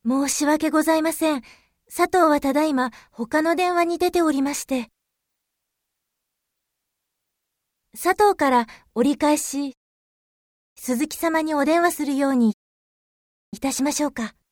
申し訳ございません。佐藤はただいま他の電話に出ておりまして。佐藤から折り返し、鈴木様にお電話するようにいたしましょうか。